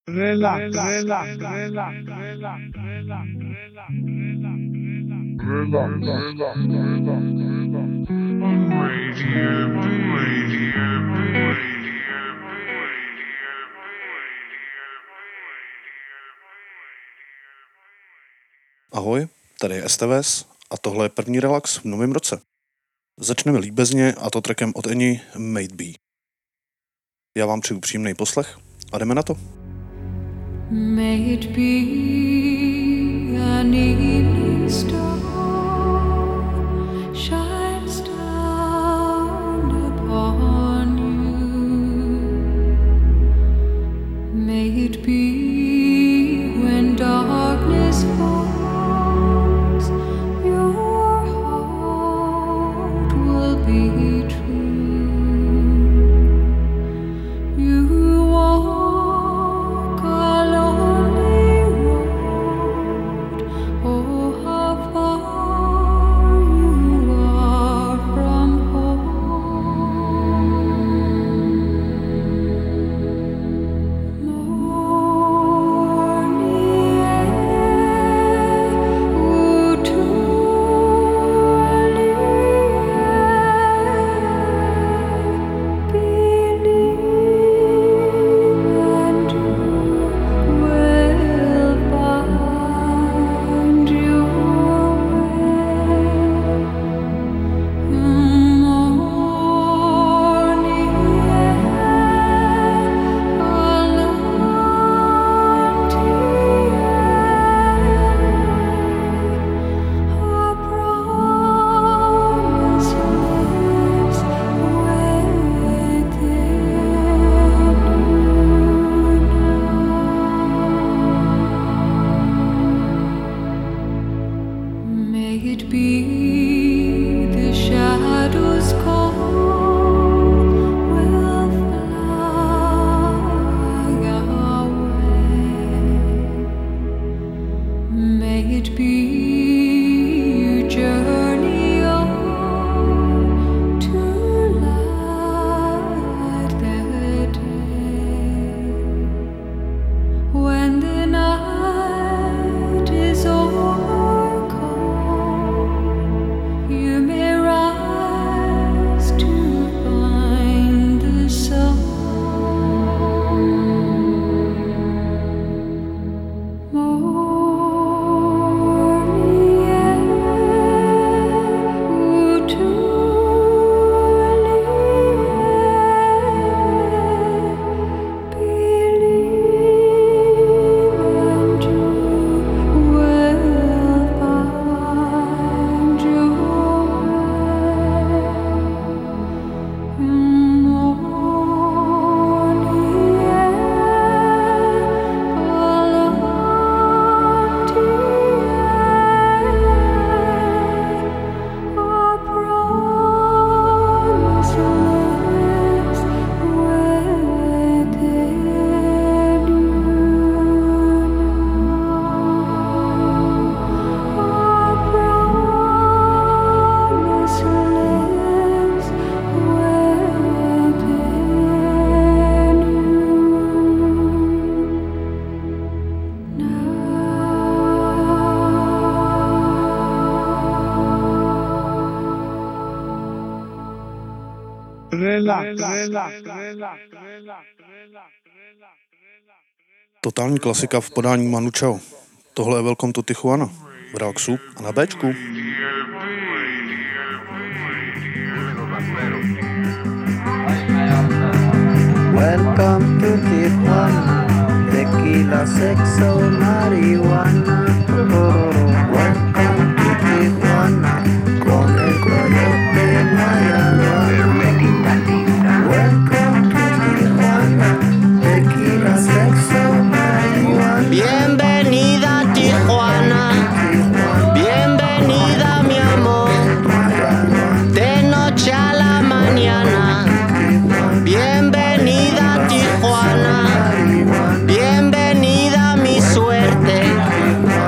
Relax. Ahoj, tady je STVS a tohle je první relax v novém roce. Začneme líbezně a to trackem od Eni Made Be. Já vám přeju příjemný poslech a jdeme na to. May it be an evening star shines down upon you. May it be when darkness falls, your heart will be true. You walk a lonely road. Oh, how far you are from home. Morning air, ooh, truly believe and you will find your way. Morning air, a empty air, a promise lives within. May it be the shadows call will fly away. May it be you journey on to light the day. When the night is overcome, you may rise to find the sun. Morning air, ooh, truly believe and you will find your way. Morning air, all empty air, a promise lives within you now. A promise lives within you Totální klasika v podání Manu Chao. Tohle je Welcome to Tijuana v relaxu a na Bčku. Welcome to Tijuana, tequila, sexo, marihuana. Welcome to Tijuana, con el coyote Mayagua. Welcome to Tijuana, tequila, sexo, marihuana. Bienvenida a Tijuana, bienvenida mi amor, de noche a la mañana. Bienvenida a Tijuana, bienvenida mi suerte.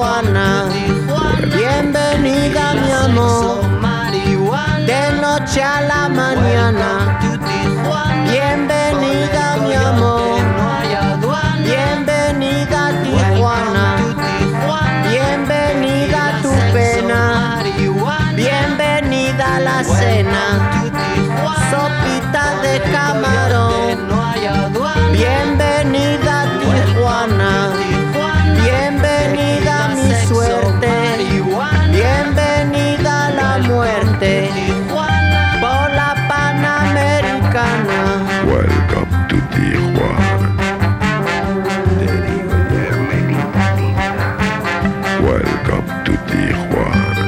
Tijuana. Bienvenida mi amor, de noche a la mañana. Bienvenida mi amor, bienvenida a Tijuana. Bienvenida a tu pena, bienvenida a la cena. Sopita de camarón, bienvenida a Tijuana. Bienvenida a mi suerte, bienvenida a la muerte, por la Panamericana. Welcome to Tijuana. Welcome to Tijuana.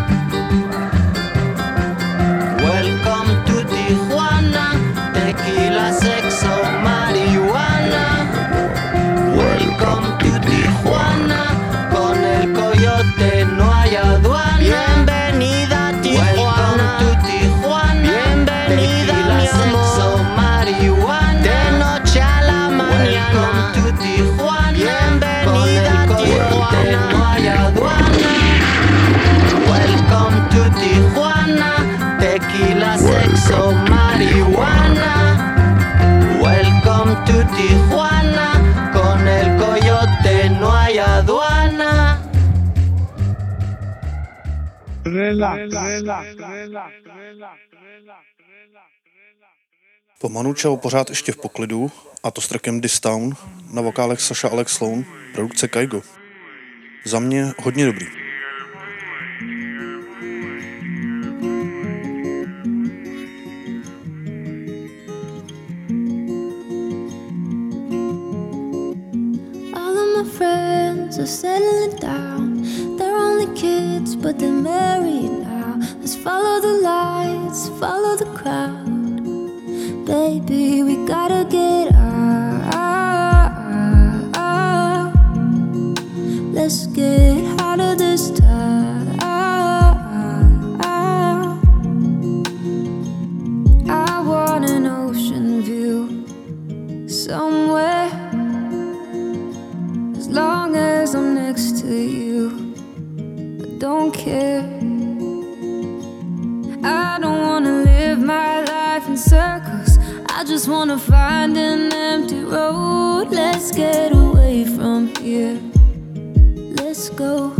Welcome to Tijuana, tequila, sexo, marihuana. Welcome to Tijuana, con el coyote no hay aduana. Bienvenida a Tijuana, welcome to Tijuana. Bienvenida mi amor, sexo, marihuana. De noche a la mañana. Welcome to Tijuana, bienvenida a Tijuana, no hay aduana. Welcome to Tijuana, tequila, sexo, marihuana. Welcome to Tijuana, con el coyote no hay aduana. Po Manu Chao pořád ještě v poklidu, a to s trackem This Town, na vokálech Sasha Alex Sloan, produkce Kygo. Za mě hodně dobrý. All of my friends are settling down. They're only kids, but they're married now. Let's follow the lights, follow the crowd. Baby, we gotta get out. Let's get out of this town. I want an ocean view somewhere. As long as I'm next to you, I don't care. I don't wanna live my life in circles. I just wanna find an empty road. Let's get away from here. Let's go.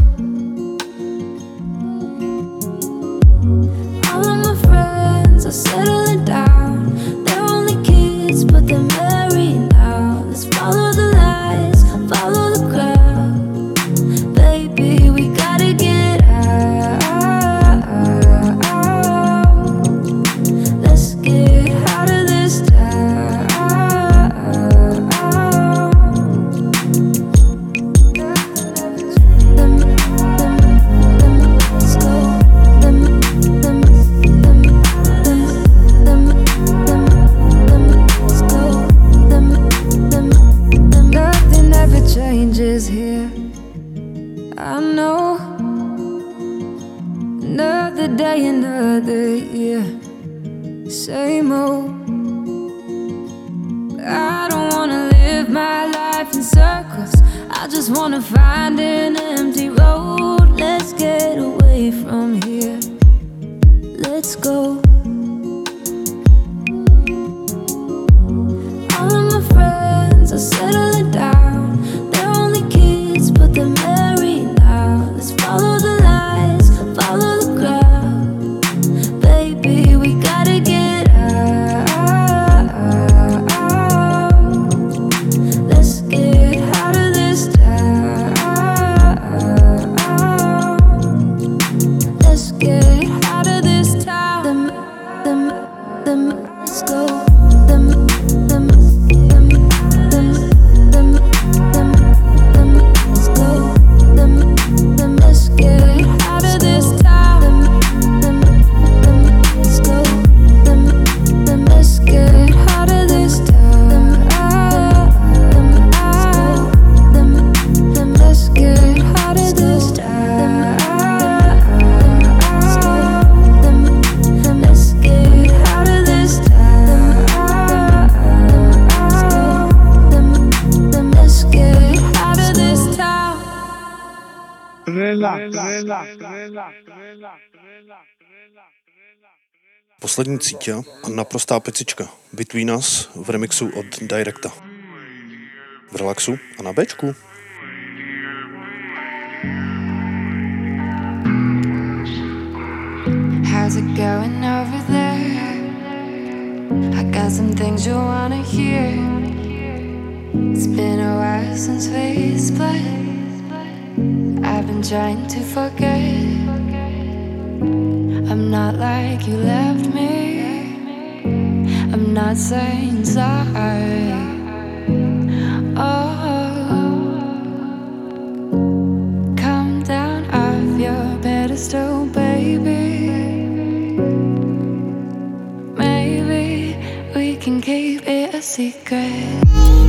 All of my friends are settling down. They're only kids, but they're married now. Let's follow the lights, follow the crowd. Baby, we gotta get out. Let's get out of this town. Let's go. Let's go. Nothing ever changes here. I know. Another day, another year. Same old. I don't wanna live my life in circles. I just wanna find an empty road. Let's get away from here. Let's go. All of my friends are settling down. They're only kids, but they're married now. Let's follow the lights, follow the crowd. Baby, we gotta get out. Let's get out of this town. Poslední cítě a naprostá pecička Between Us v remixu od Directa. V relaxu a na Bčku. How's it going over there? I got some things you wanna hear. It's been a while since we split. I've been trying to forget. I'm not like you left me. I'm not saying sorry. Oh, come down off your pedestal, baby. Maybe we can keep it a secret.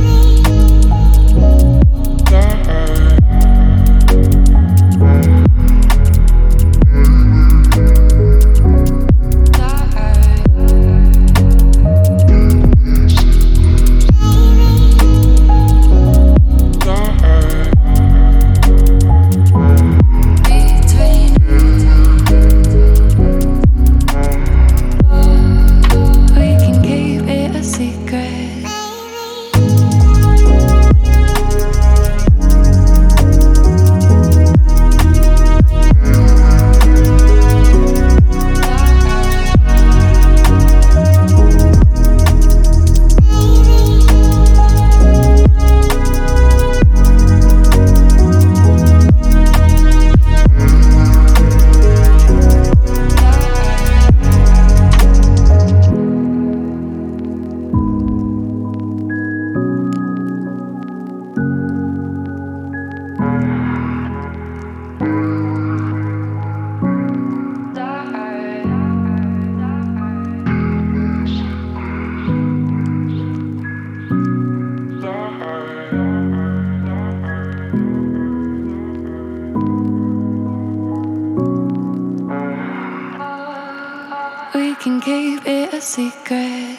We can keep it a secret.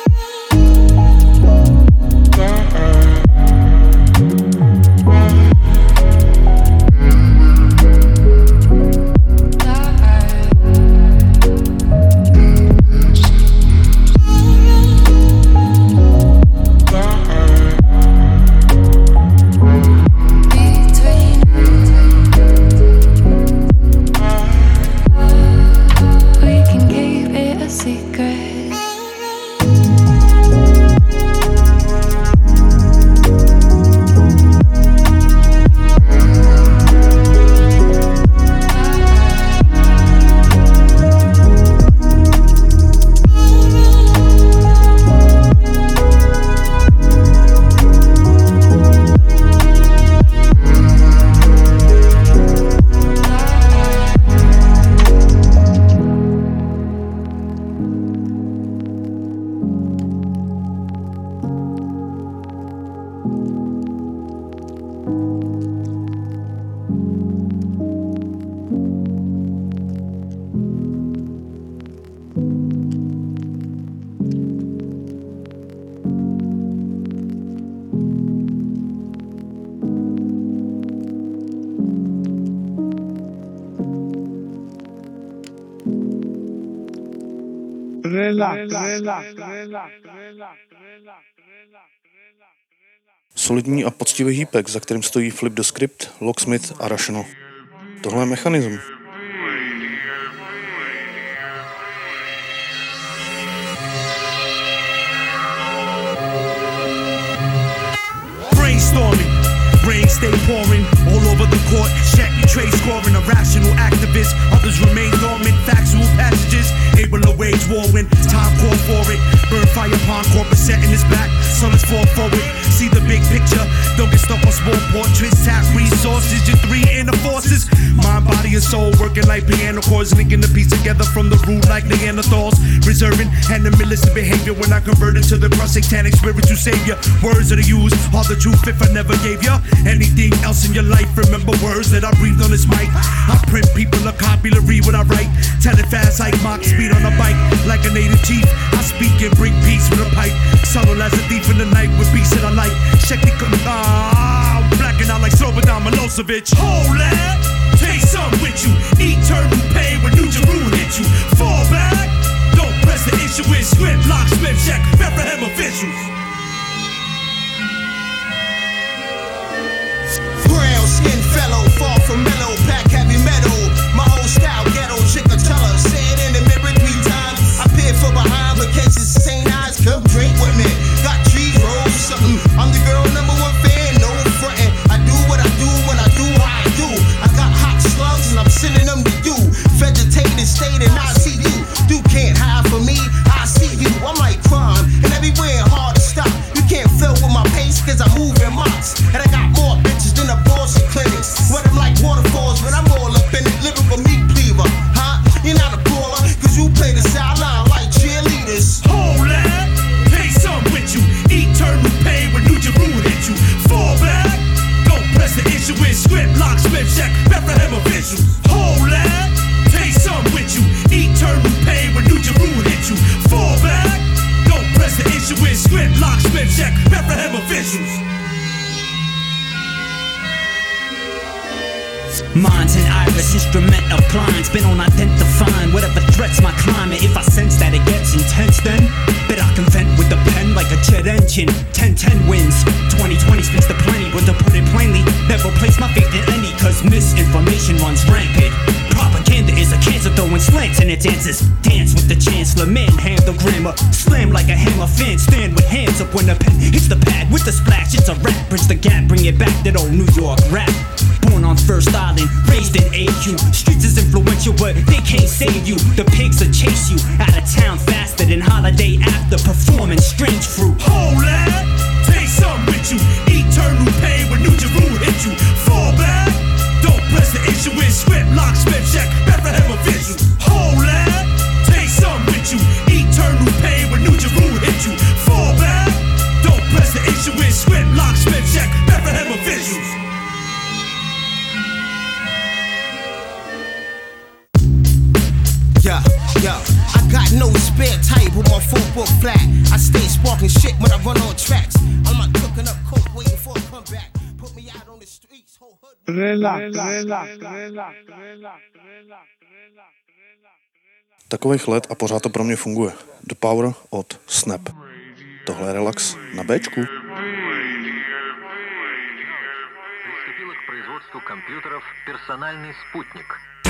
Solidní a poctivý hýpek, za kterým stojí Flip the Script, Locksmith a Rational. Tohle je mechanism. Brainstorming, rain stay pouring all over the court. Check your trade scoring, a rational activist. Others remain dormant, factual passages. Able to wage war when time call for it. Burn fire upon corporate setting his back. So let's fall forward. See the big picture. Don't get stuck on small portraits. Tap resources, just three inner forces. Mind, body, and soul working like piano chords. Linking the piece together from the root like Neanderthals. Reserving animalistic behavior when I convert into the cross satanic spiritual savior. Words that I use are the truth if I never gave ya anything else in your life. Remember words that I breathed on this mic. I print people a copy to read what I write. Tell it fast like Mach speed on a bike. Like a native chief, I speak and bring peace with a pipe. Subtle as a thief in the night with beats that I like. Check the blacking out like Slobodan Milosevic. Hold that! Minds and iris, instrument of blinds. Been on identifying whatever threats my climate. If I sense that it gets intense, then bet I can vent with the pen like a jet engine. 10-10 wins, 2020 spins the plenty. But to put it plainly, never place my faith in any, cause misinformation runs rampant. Propaganda is a cancer throwing slants in its answers. Dance with the chancellor, manhandle grammar. Slam like a hammer, fan stand with hands up when the pen hits the pad with the splash. It's a rap, bridge the gap, bring it back, that old New York rap. Born on First Island, raised in AQ. Streets is influential, but they can't save you. The pigs will chase you out of town faster than holiday after performing strange fruit. Hold that, take something with you. Eternal pain when New Jeru hit you. Fall back, don't press the issue in script. Locksmith check, Bethlehem a visual. Hold that, take something with you. Eternal pain when New Jeru hit you. Fall back, don't press the issue in script. Locksmith check, Bethlehem a visual. Yo, I got no spare type with my full book flat. I stay sparking shit when I run on tracks. I'm not cooking up coke waiting for a comeback. Put me out on the streets, whole hood. Takových let a pořád to pro mě funguje. The Power od Snap. Tohle je Relax na Bčku. Приступила к производству компьютеров «Персональный спутник».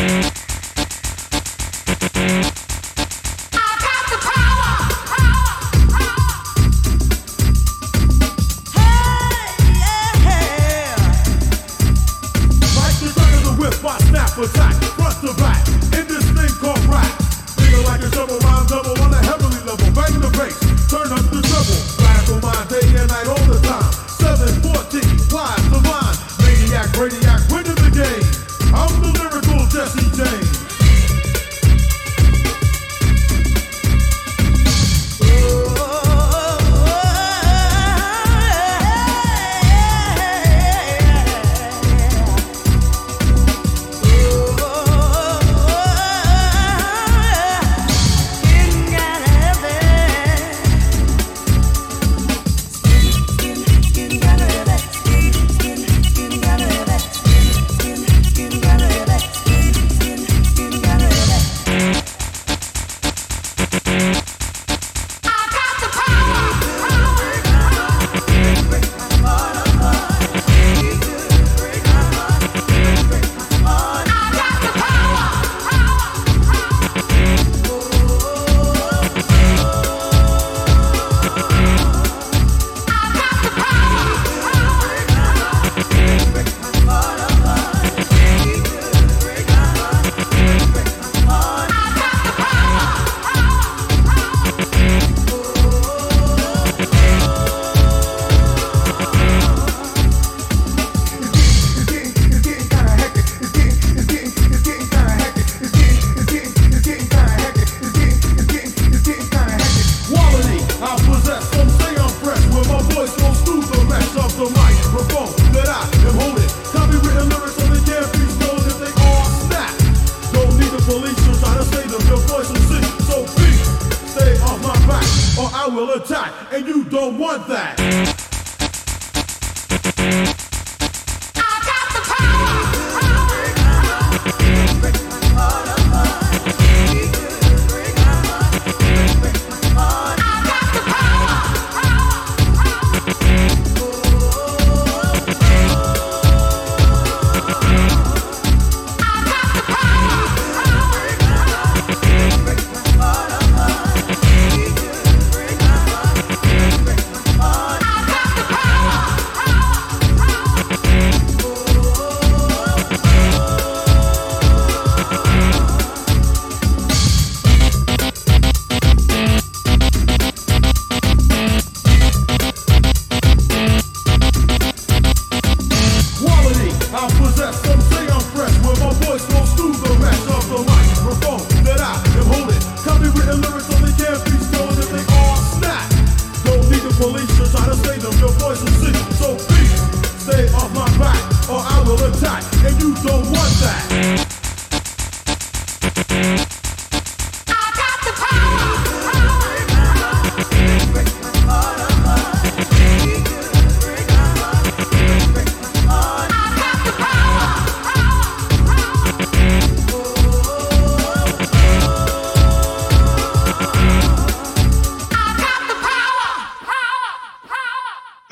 Attack, front to back, in this thing called rap. Feel like a double rhyme double on a heavenly level. Bang the bass, turn up the treble. Blast on my day and night all the time. 714, wise the line. Maniac, radiac, winning the game. I'm the lyrical Jesse James.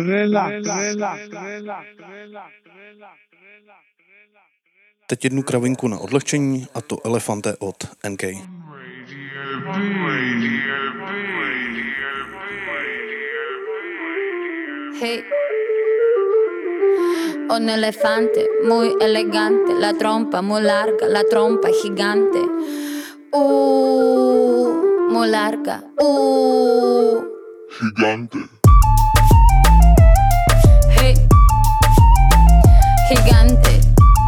Teď jednu kravinku na odlehčení, a to Elefante od NK. Hey. Un elefante muy elegante, la trompa muy larga, la trompa gigante. Muy larga. Gigante. Hey. Gigante.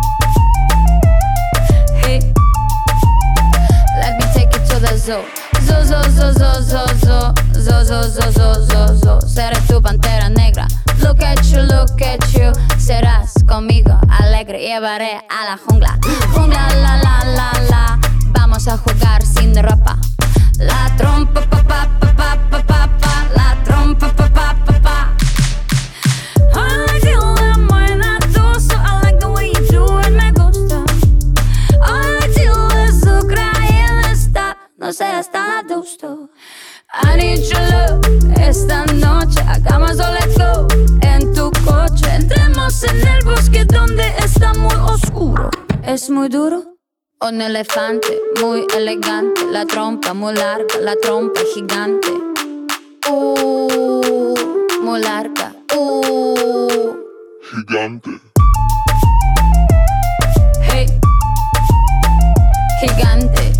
Hey. Let me take you to the zoo. Zoo, zoo, zoo, zoo, zoo, zoo. Zoo, zoo, zoo, zoo, zoo, zoo. Seré tu pantera negra. Look at you. Serás conmigo alegre. Llevaré a la jungla. Jungla, la, la, la, la. Vamos a jugar sin ropa. La trompa, pa, pa, pa, pa, pa, pa, pa. La trompa, pa, pa, pa, pa. I like you when buena doso. I like the way you do it, me gusta. I like you eso, creyendo está. No seas tan adusto. I need your love. Esta noche hagamos o let's go. En tu coche entremos en el bosque donde está muy oscuro. Es muy duro. Un elefante muy elegante, la trompa muy larga, la trompa gigante. Muy larga. Gigante. Hey. Gigante.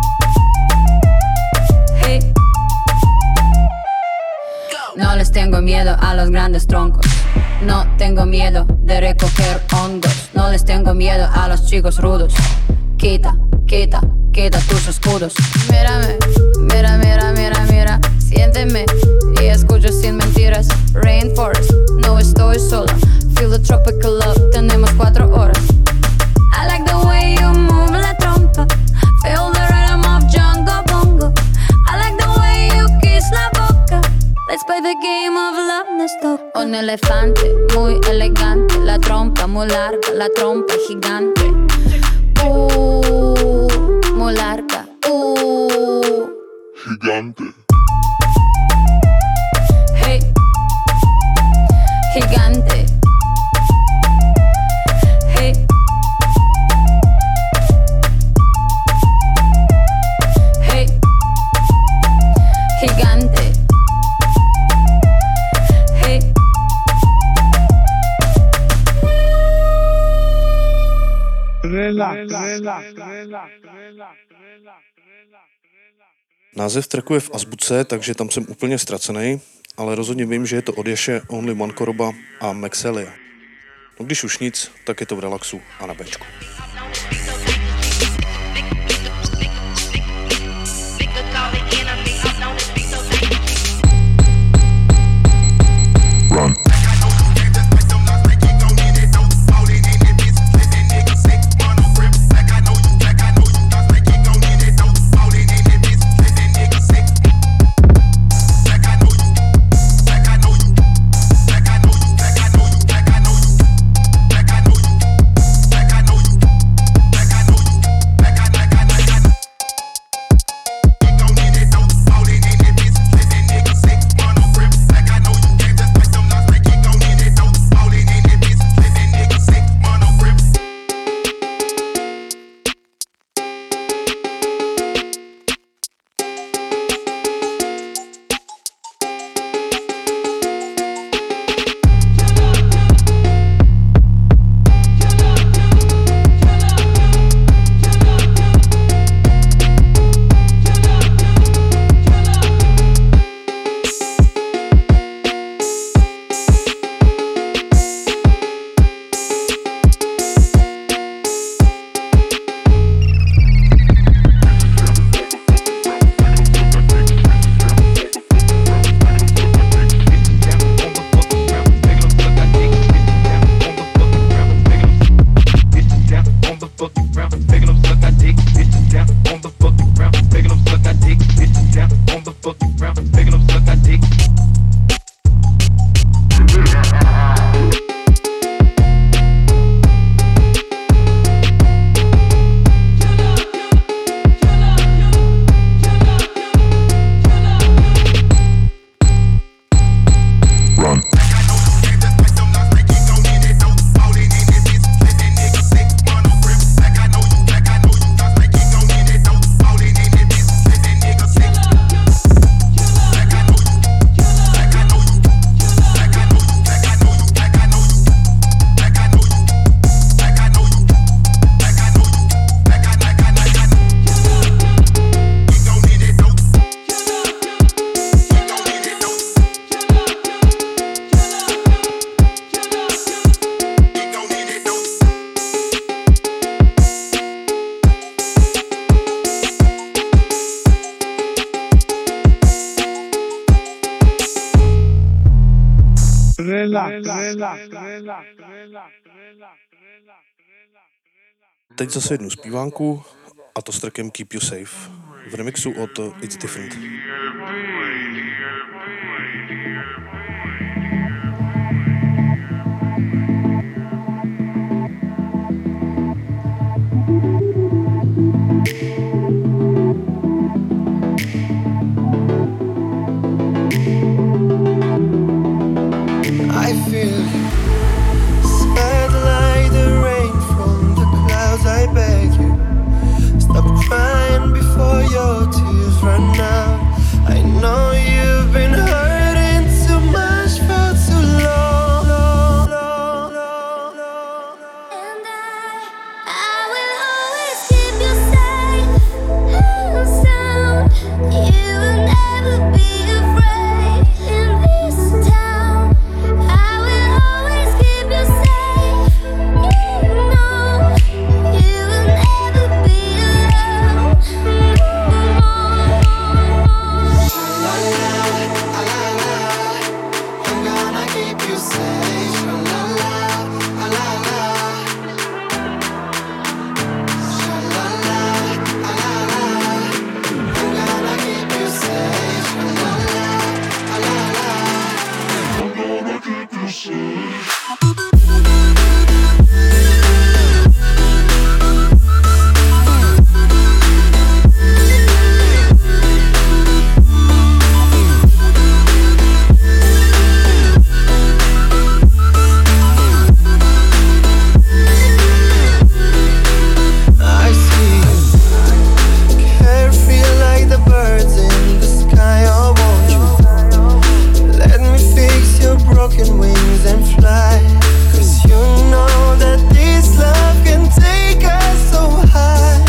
Hey. No les tengo miedo a los grandes troncos. No tengo miedo de recoger hongos. No les tengo miedo a los chicos rudos. Quita tus escudos. Mírame, mira. Siénteme y escucho sin mentiras. Rainforest, no estoy sola. Feel the tropical love, tenemos 4 horas. I like the way you move la trompa. Feel the rhythm of Jungle Bongo. I like the way you kiss la boca. Let's play the game of love, nos toca. Un elefante muy elegante, la trompa muy larga, la trompa gigante. Muy larga. Gigante. Hey. Gigante. Hey. Hey. Gigante. Hey. Název tracku je v azbuce, takže tam jsem úplně ztracený, ale rozhodně vím, že je to od Ješe, Only One Koroba a Maxelia. No když už nic, tak je to v relaxu a na Bčku. Run. Teď zase jednu zpívánku, a to s trackem Keep You Safe v remixu od It's Different. I feel sad like the rain from the clouds. I beg you, stop crying before your tears run out. I know you've been hurting too much for too long. And I will always keep you safe and sound. You will never be afraid in this town. I will always keep you safe. You know you will never be alone. I'm gonna keep you safe. La la la la la. La la la la la. I'm gonna keep you safe. La la la la la. I'm gonna keep you safe. I see you carefree like the birds in the sky. Oh, won't you let me fix your broken wings and fly? 'Cause you know that this love can take us so high.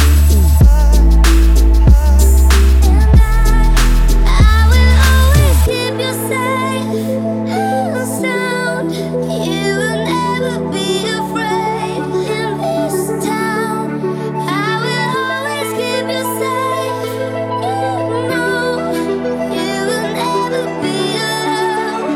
I will always keep you safe and sound. You will never be afraid in this town. I will always keep you safe. You know you will never be alone.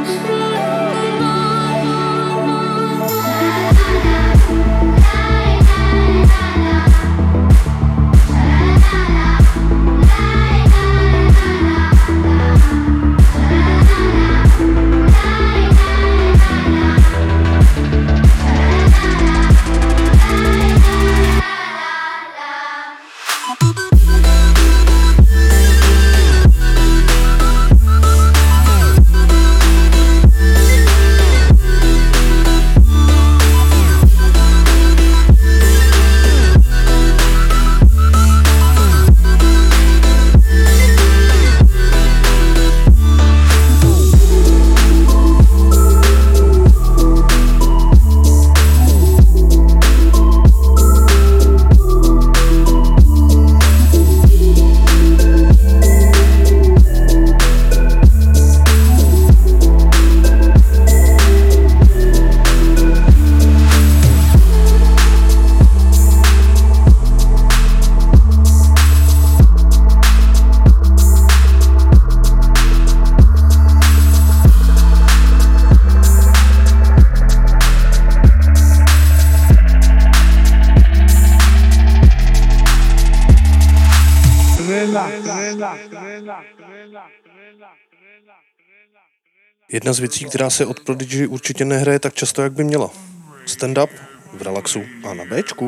Jedna z věcí, která se od Prodigy určitě nehraje tak často, jak by měla. Stand-up v relaxu a na Bčku.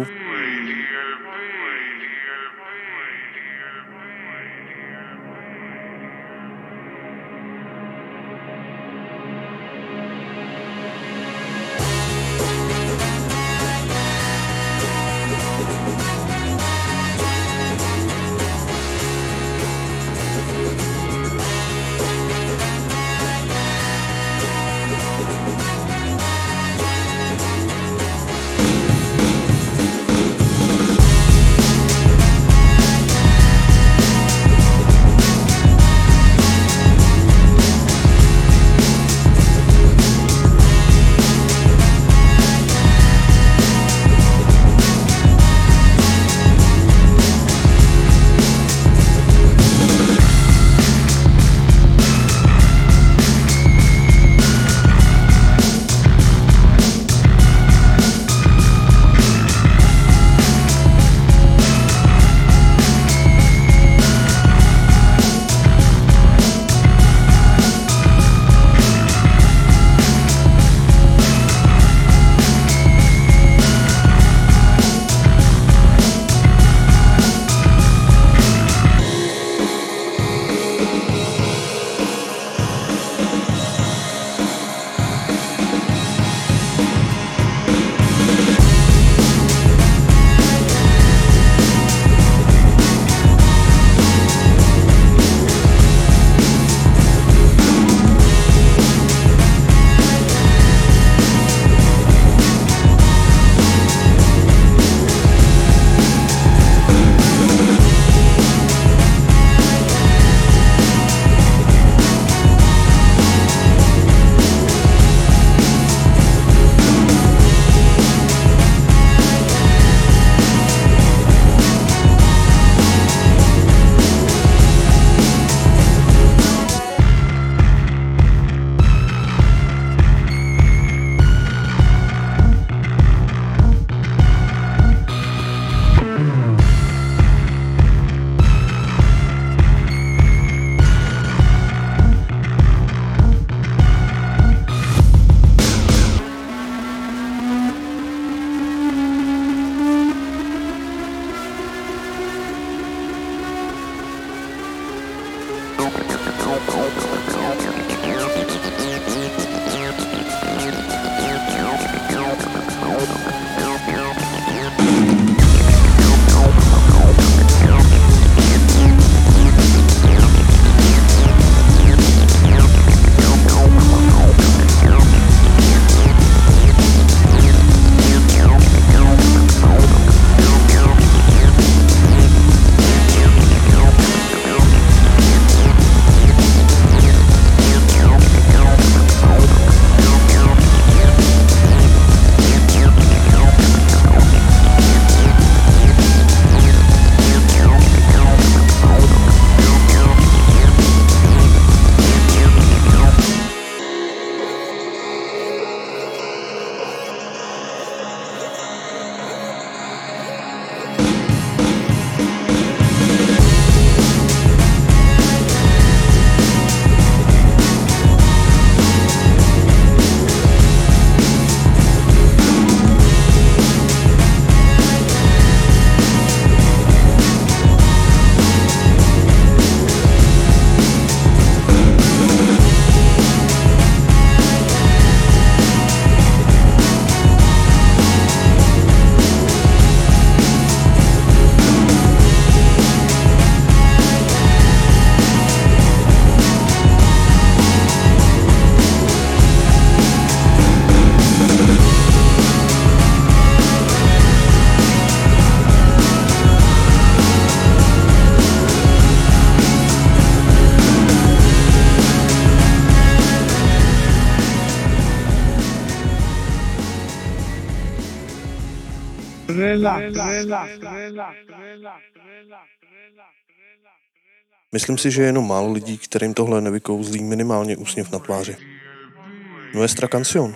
Myslím si, že je jenom málo lidí, kterým tohle nevykouzlí minimálně úsměv na tváři. Nuestra canción.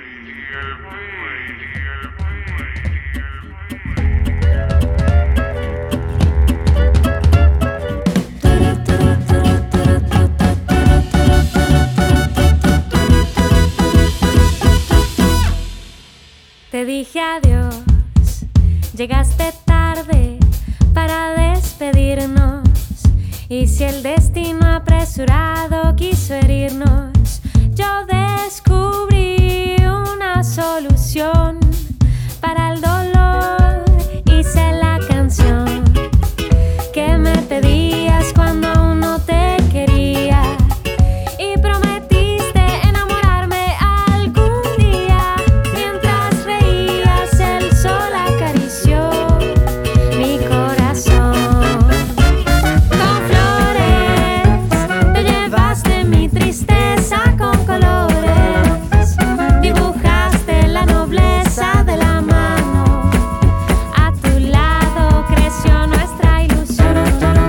Te dije adiós, llegaste tarde para despedirnos. Y si el destino apresurado quiso herirnos, yo descubrí una solución para el dolor. Hice la canción que me pedías cuando aún no te quería. Y prometiste enamorarme algún día. Mientras reías, el sol acarició mi corazón. Con flores te llevaste mi tristeza con colores. Dibujaste la nobleza de la mano. A tu lado creció nuestra ilusión.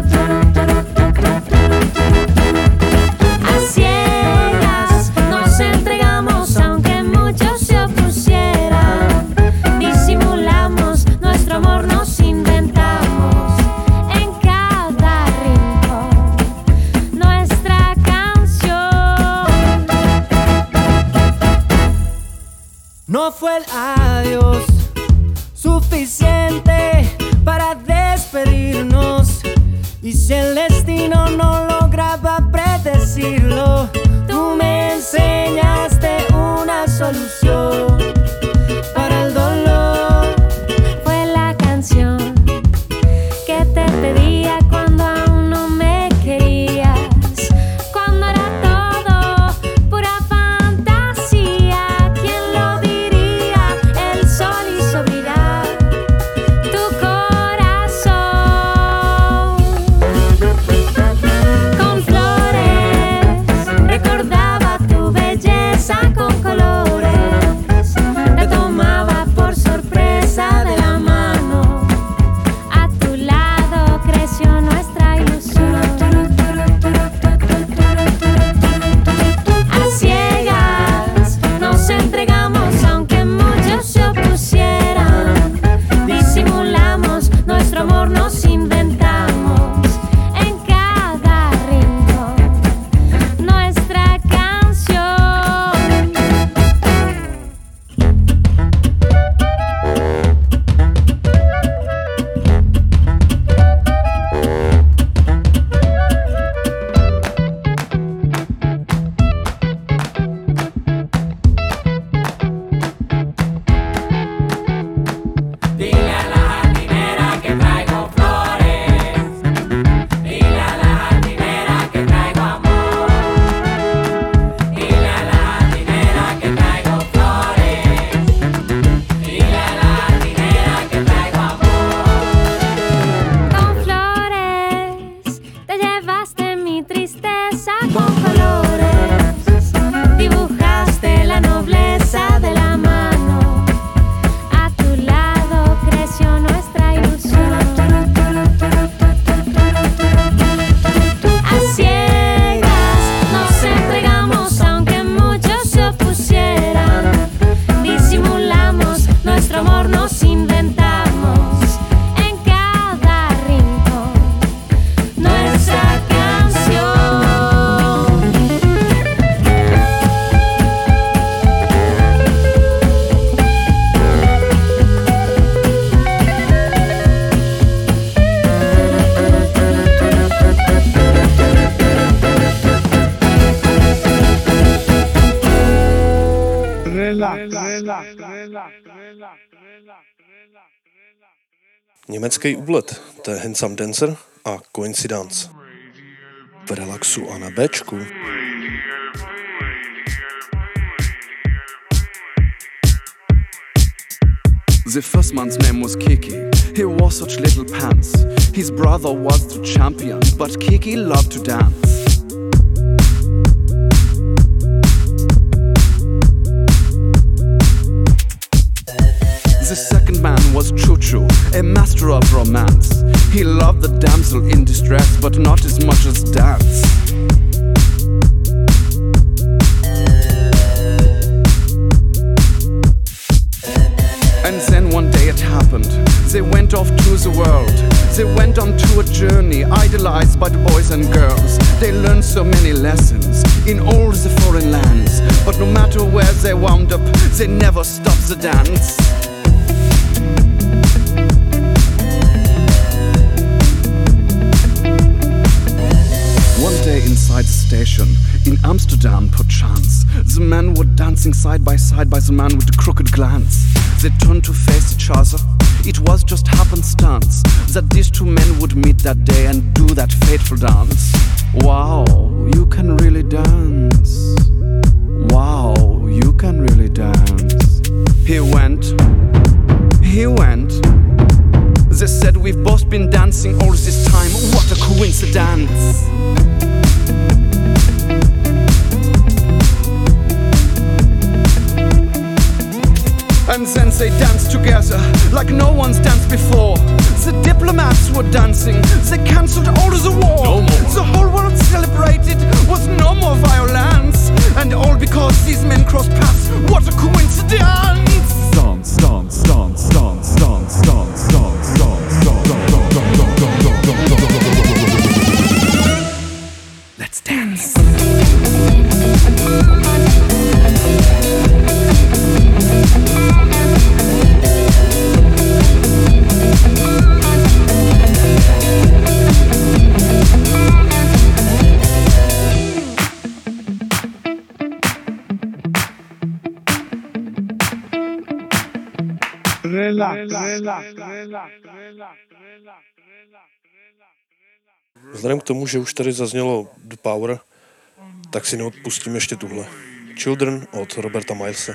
A ciegas nos entregamos aunque muchos se opusieran. Disimulamos nuestro amor, nos inventamos en cada rincón nuestra canción. No fue el adiós suficiente para despedirnos. Y si el destino no lograba predecirlo, tú me enseñaste una solución para el dolor. Fue la canción que te pedía cuando aún no me querías. Cuando era todo pura fantasía. ¿Quién lo diría? El sol hizo brillar tu corazón. Con flores recordaba tu belleza con colores. Te tomaba por sorpresa de la mano. A tu lado creció nuestra ilusión. A ciegas nos entregamos aunque muchos se opusieran. Disimulamos nuestro amor, nos inventamos en cada rincón nuestra canción. Dile a la jardinera que traigo flores. Dile a la jardinera que traigo amor. Dile a la jardinera que traigo flores. Dile a la jardinera que traigo amor. Con flores te llevaste mi tristeza con colores. Dibujaste la nobleza de la mano. A tu lado creció nuestra ilusión. A ciegas nos entregamos aunque muchos se opusieran. Disimulamos nuestro amor, nos inventamos en cada rincón nuestra canción. Německý úlet, to je Handsome Dancer a Coincidence. V relaxu a na Bčku. The first man's name was Kiki. He wore such little pants. His brother was the champion, but Kiki loved to dance. The second man was Choo Choo. a master of romance. He loved the damsel in distress, but not as much as dance. And then one day it happened. They went off to the world. They went on to a journey, idolized by the boys and girls. They learned so many lessons in all the foreign lands. But no matter where they wound up, they never stopped the dance. One day inside the station, in Amsterdam perchance, the men were dancing side by the man with the crooked glance. They turned to face each other. It was just happenstance that these two men would meet that day and do that fateful dance. Wow, you can really dance. Wow, you can really dance. He went. They said we've both been dancing all this time. What a coincidence. And then they danced together like no one's danced before. The diplomats were dancing, they cancelled all of the war. No more. The whole world celebrated with no more violence. And all because these men crossed paths. What a coincidence! Dance, dance, dance, dance, dance, dance, dance, dance, dance. Let's dance. Vzhledem k tomu, že už tady zaznělo The Power, tak si neodpustím ještě tuhle. Children od Roberta Milese.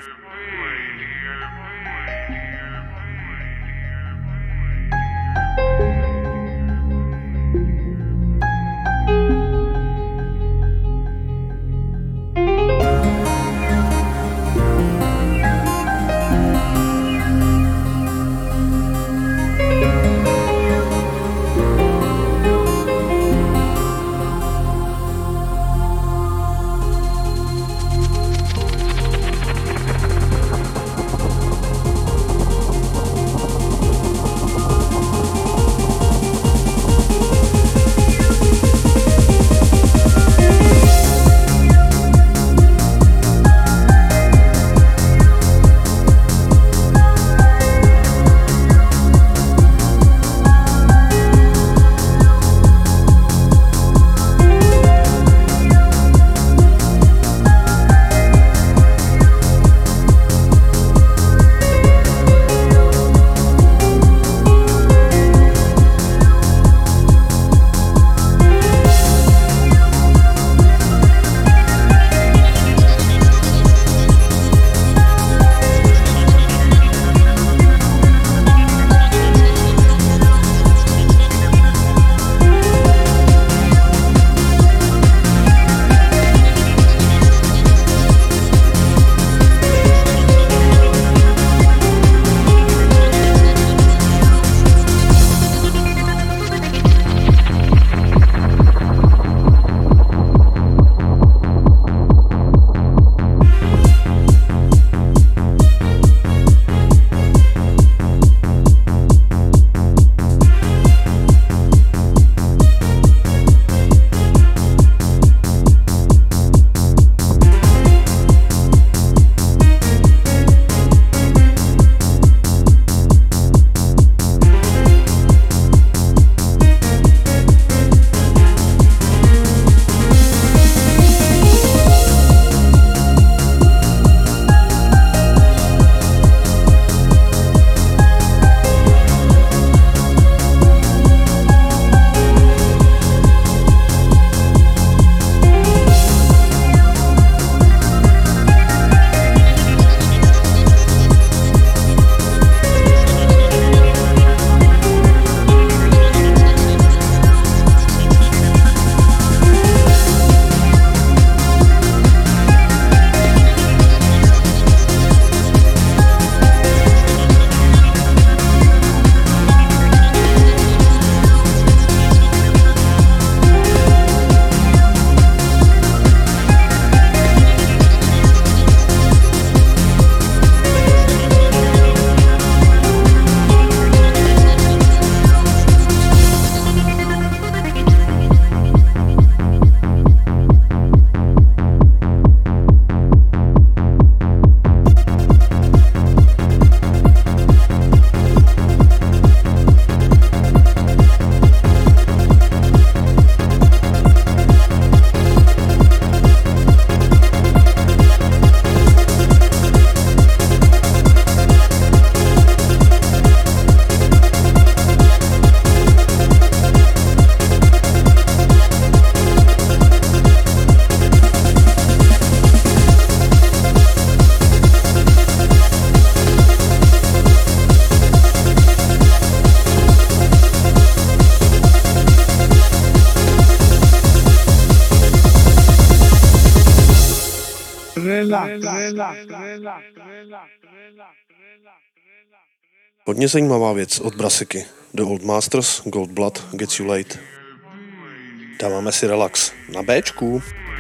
Hodně zajímavá věc od Brasiky. The Old Masters, Gold Blood, Gets You Late. Dáváme si relax na Bčku.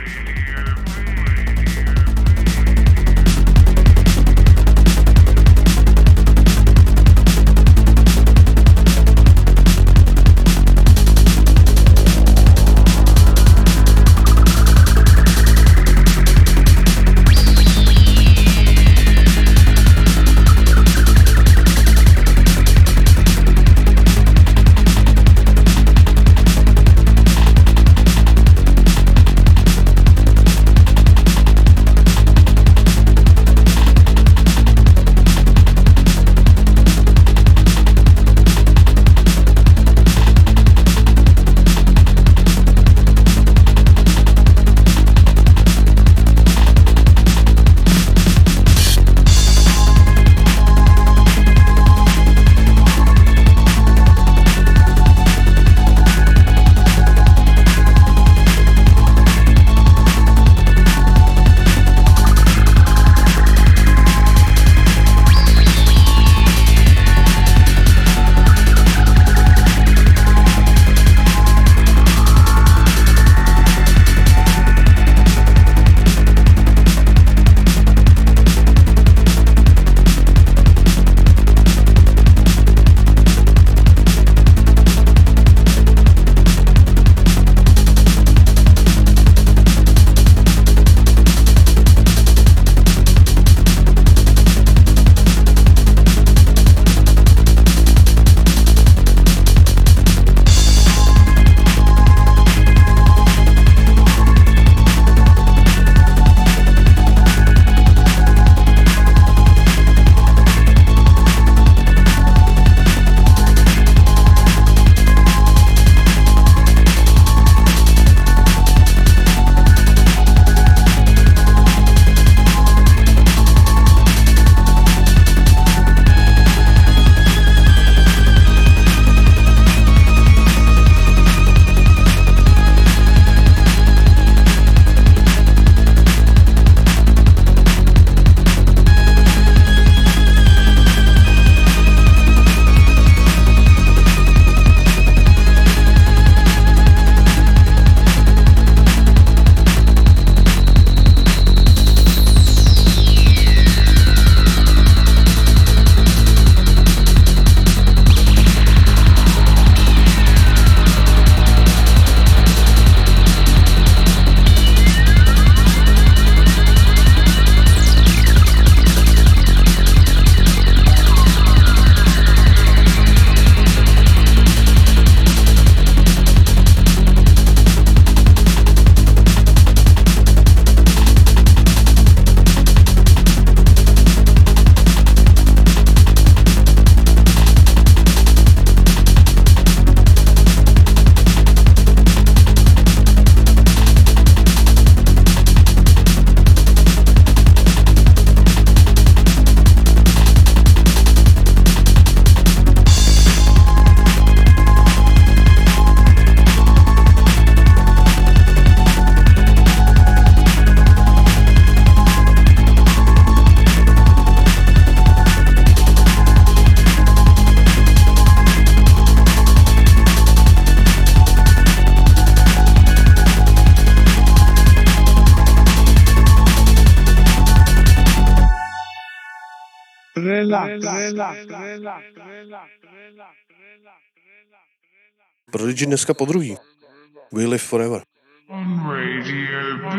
Prodigy dneska po druhý. We Live Forever. On Radio B.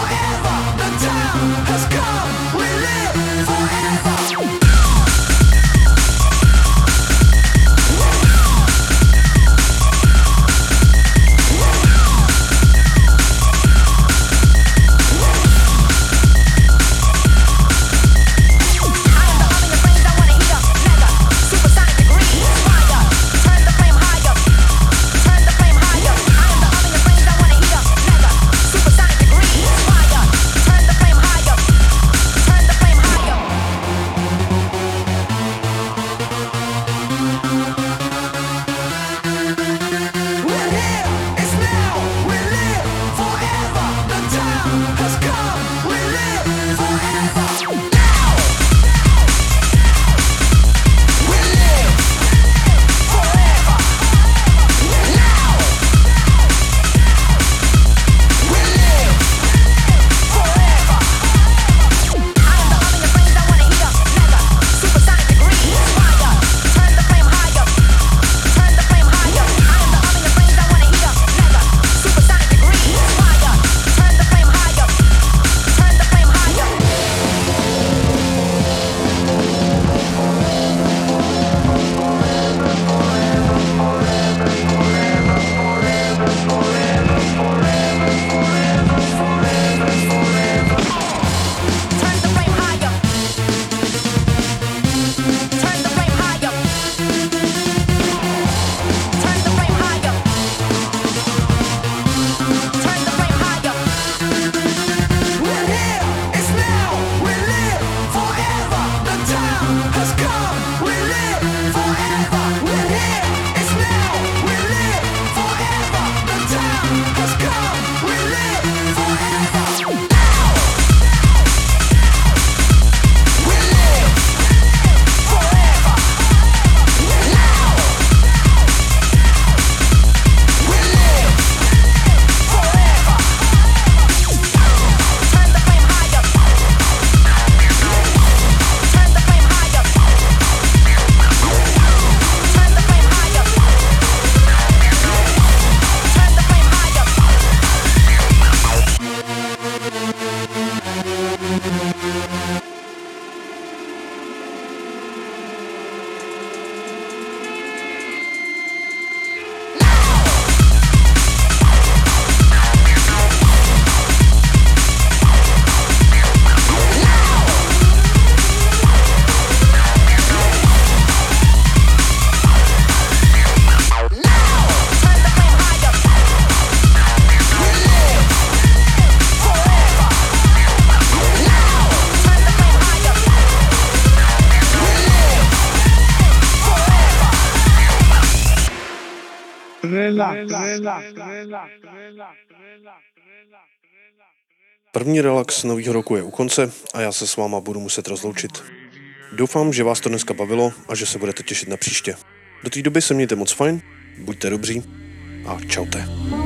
Forever. První relax nového roku je u konce a já se s váma budu muset rozloučit. Doufám, že vás to dneska bavilo a že se budete těšit na příště. Do té doby se mějte moc fajn, buďte dobří a čaute.